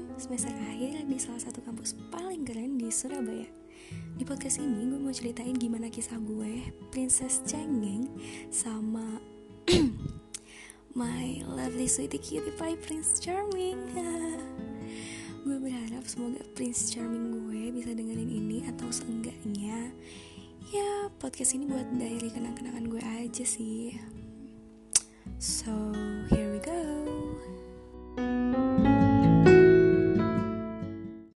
semester akhir di salah satu kampus paling keren di Surabaya. Di podcast ini gue mau ceritain gimana kisah gue, Princess Cengeng, sama my lovely sweetie cutie pie Prince Charming. Gue berharap semoga Prince Charming gue bisa dengerin ini, atau seenggaknya ya podcast ini buat diary kenang-kenangan gue aja sih. So here